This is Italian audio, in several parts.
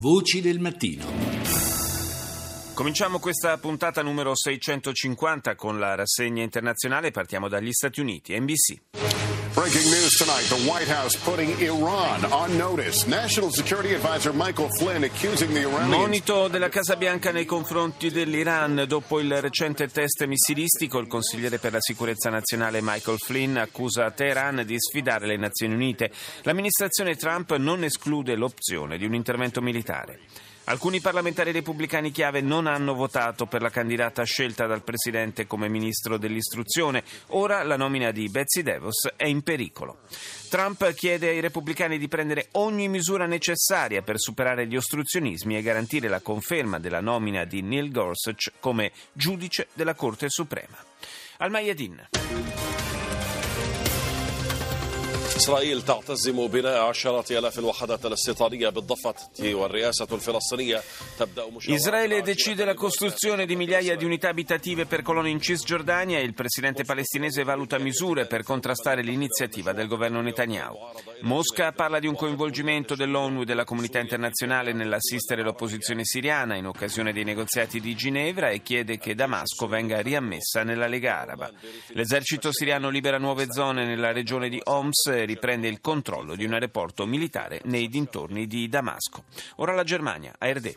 Voci del mattino. Cominciamo questa puntata numero 650 con la rassegna internazionale. Partiamo dagli Stati Uniti. NBC. Breaking news tonight, the White House putting Iran on notice. National Security Advisor Michael Flynn accusing the Iranians... Monito della Casa Bianca nei confronti dell'Iran. Dopo il recente test missilistico, il consigliere per la sicurezza nazionale Michael Flynn accusa Teheran di sfidare le Nazioni Unite. L'amministrazione Trump non esclude l'opzione di un intervento militare. Alcuni parlamentari repubblicani chiave non hanno votato per la candidata scelta dal presidente come ministro dell'istruzione. Ora la nomina di Betsy DeVos è in pericolo. Trump chiede ai repubblicani di prendere ogni misura necessaria per superare gli ostruzionismi e garantire la conferma della nomina di Neil Gorsuch come giudice della Corte Suprema. Al-Mayadin. إسرائيل تعتزم بناء عشرات آلاف الوحدات الاستيطانية بالضفة والرئاسة الفلسطينية تبدأ Israele decide la costruzione di migliaia di unità abitative per colonie in Cisgiordania e il presidente palestinese valuta misure per contrastare l'iniziativa del governo Netanyahu. Mosca parla di un coinvolgimento dell'ONU e della comunità internazionale nell'assistere l'opposizione siriana in occasione dei negoziati di Ginevra e chiede che Damasco venga riammessa nella Lega Araba. L'esercito siriano libera nuove zone nella regione di Homs e riprende il controllo di un aeroporto militare nei dintorni di Damasco. Ora la Germania, ARD.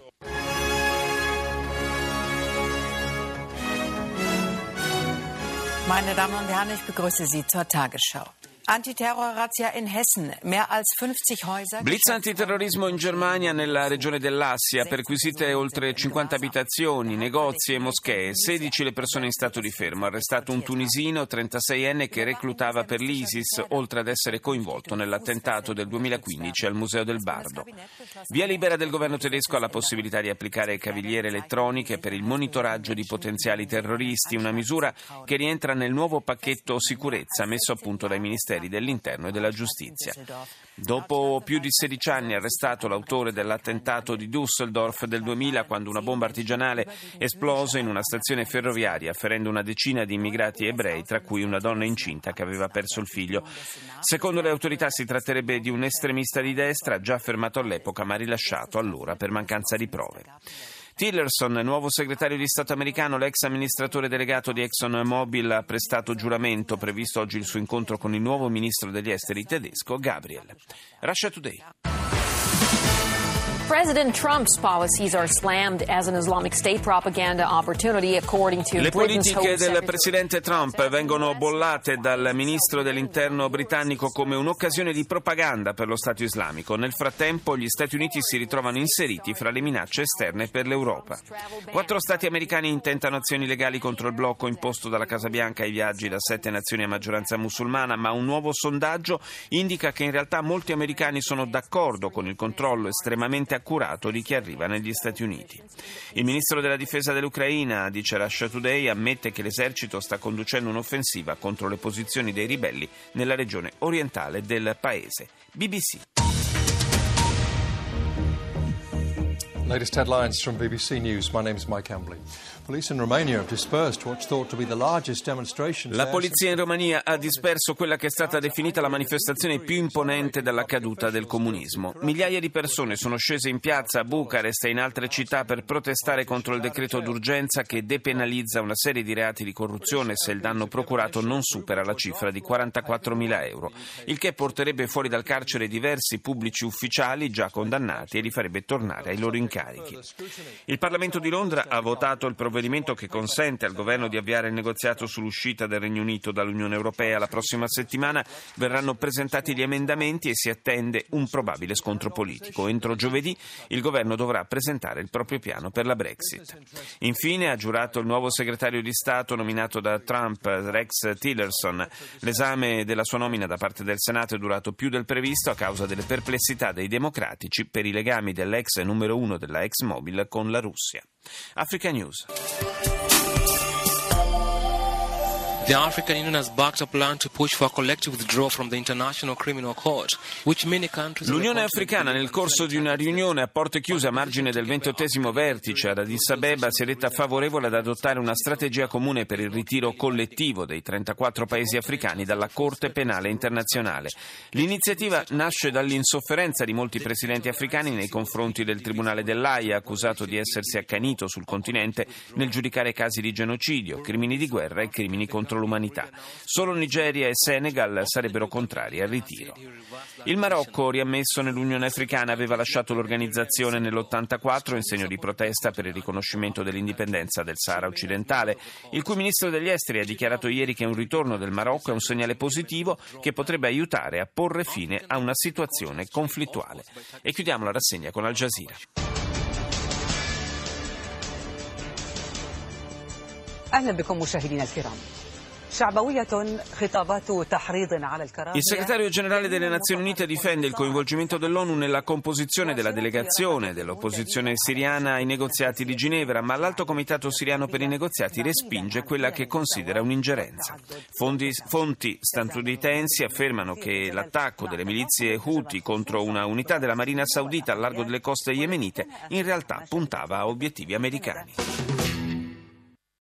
Meine Damen und Herren, ich begrüße Sie zur Tagesschau. Antiterror-Razzia in Hessen. Mehr als 50 Häuser. Blitz antiterrorismo in Germania nella regione dell'Assia, perquisite oltre 50 abitazioni, negozi e moschee, 16 le persone in stato di fermo, arrestato un tunisino 36enne che reclutava per l'ISIS, oltre ad essere coinvolto nell'attentato del 2015 al Museo del Bardo. Via libera del governo tedesco alla possibilità di applicare cavigliere elettroniche per il monitoraggio di potenziali terroristi, una misura che rientra nel nuovo pacchetto sicurezza messo a punto dai ministeri dell'Interno e della Giustizia. Dopo più di 16 anni arrestato l'autore dell'attentato di Düsseldorf del 2000, quando una bomba artigianale esplose in una stazione ferroviaria, ferendo una decina di immigrati ebrei, tra cui una donna incinta che aveva perso il figlio. Secondo le autorità si tratterebbe di un estremista di destra, già fermato all'epoca ma rilasciato allora per mancanza di prove. Tillerson, nuovo segretario di Stato americano, l'ex amministratore delegato di ExxonMobil, ha prestato giuramento, previsto oggi il suo incontro con il nuovo ministro degli esteri tedesco, Gabriel. Russia Today. President Trump's policies are slammed as an Islamic State propaganda opportunity, according to Le Britain's politiche Home del Secretary. presidente Trump vengono bollate dal ministro dell'interno britannico come un'occasione di propaganda per lo Stato islamico. Nel frattempo gli Stati Uniti si ritrovano inseriti fra le minacce esterne per l'Europa. 4 stati americani intentano azioni legali contro il blocco imposto dalla Casa Bianca ai viaggi da 7 nazioni a maggioranza musulmana, ma un nuovo sondaggio indica che in realtà molti americani sono d'accordo con il controllo estremamente accurato di chi arriva negli Stati Uniti. Il ministro della difesa dell'Ucraina, dice Russia Today, ammette che l'esercito sta conducendo un'offensiva contro le posizioni dei ribelli nella regione orientale del paese. BBC. Latest headlines from BBC News. My name is Mike Hambley. Police in Romania have dispersed what's thought to be the largest demonstration. La polizia in Romania ha disperso quella che è stata definita la manifestazione più imponente dalla caduta del comunismo. Migliaia di persone sono scese in piazza a Bucarest e in altre città per protestare contro il decreto d'urgenza che depenalizza una serie di reati di corruzione se il danno procurato non supera la cifra di 44.000 euro, il che porterebbe fuori dal carcere diversi pubblici ufficiali già condannati e li farebbe tornare ai loro incarichi. Il Parlamento di Londra ha votato il provvedimento che consente al governo di avviare il negoziato sull'uscita del Regno Unito dall'Unione Europea. La prossima settimana verranno presentati gli emendamenti e si attende un probabile scontro politico. Entro giovedì il governo dovrà presentare il proprio piano per la Brexit. Infine ha giurato il nuovo segretario di Stato nominato da Trump, Rex Tillerson. L'esame della sua nomina da parte del Senato è durato più del previsto a causa delle perplessità dei democratici per i legami dell'ex numero 1 della ExMobil con la Russia. Africa News. The African Union has backed a plan to push for a collective withdrawal from the International Criminal Court, which many countries... L'Unione Africana, nel corso di una riunione a porte chiuse a margine del 28° vertice ad Addis Abeba, si è detta favorevole ad adottare una strategia comune per il ritiro collettivo dei 34 paesi africani dalla Corte Penale Internazionale. L'iniziativa nasce dall'insofferenza di molti presidenti africani nei confronti del Tribunale dell'Aia, accusato di essersi accanito sul continente nel giudicare casi di genocidio, crimini di guerra e crimini contro l'umanità. Solo Nigeria e Senegal sarebbero contrari al ritiro. Il Marocco, riammesso nell'Unione Africana, aveva lasciato l'organizzazione nell'84 in segno di protesta per il riconoscimento dell'indipendenza del Sahara occidentale, il cui ministro degli esteri ha dichiarato ieri che un ritorno del Marocco è un segnale positivo che potrebbe aiutare a porre fine a una situazione conflittuale. E chiudiamo la rassegna con Al Jazeera. أهلا بكم مشاهدينا الكرام. Il segretario generale delle Nazioni Unite difende il coinvolgimento dell'ONU nella composizione della delegazione dell'opposizione siriana ai negoziati di Ginevra, ma l'Alto Comitato siriano per i negoziati respinge quella che considera un'ingerenza. Fonti statunitensi affermano che l'attacco delle milizie Houthi contro una unità della Marina Saudita al largo delle coste yemenite in realtà puntava a obiettivi americani.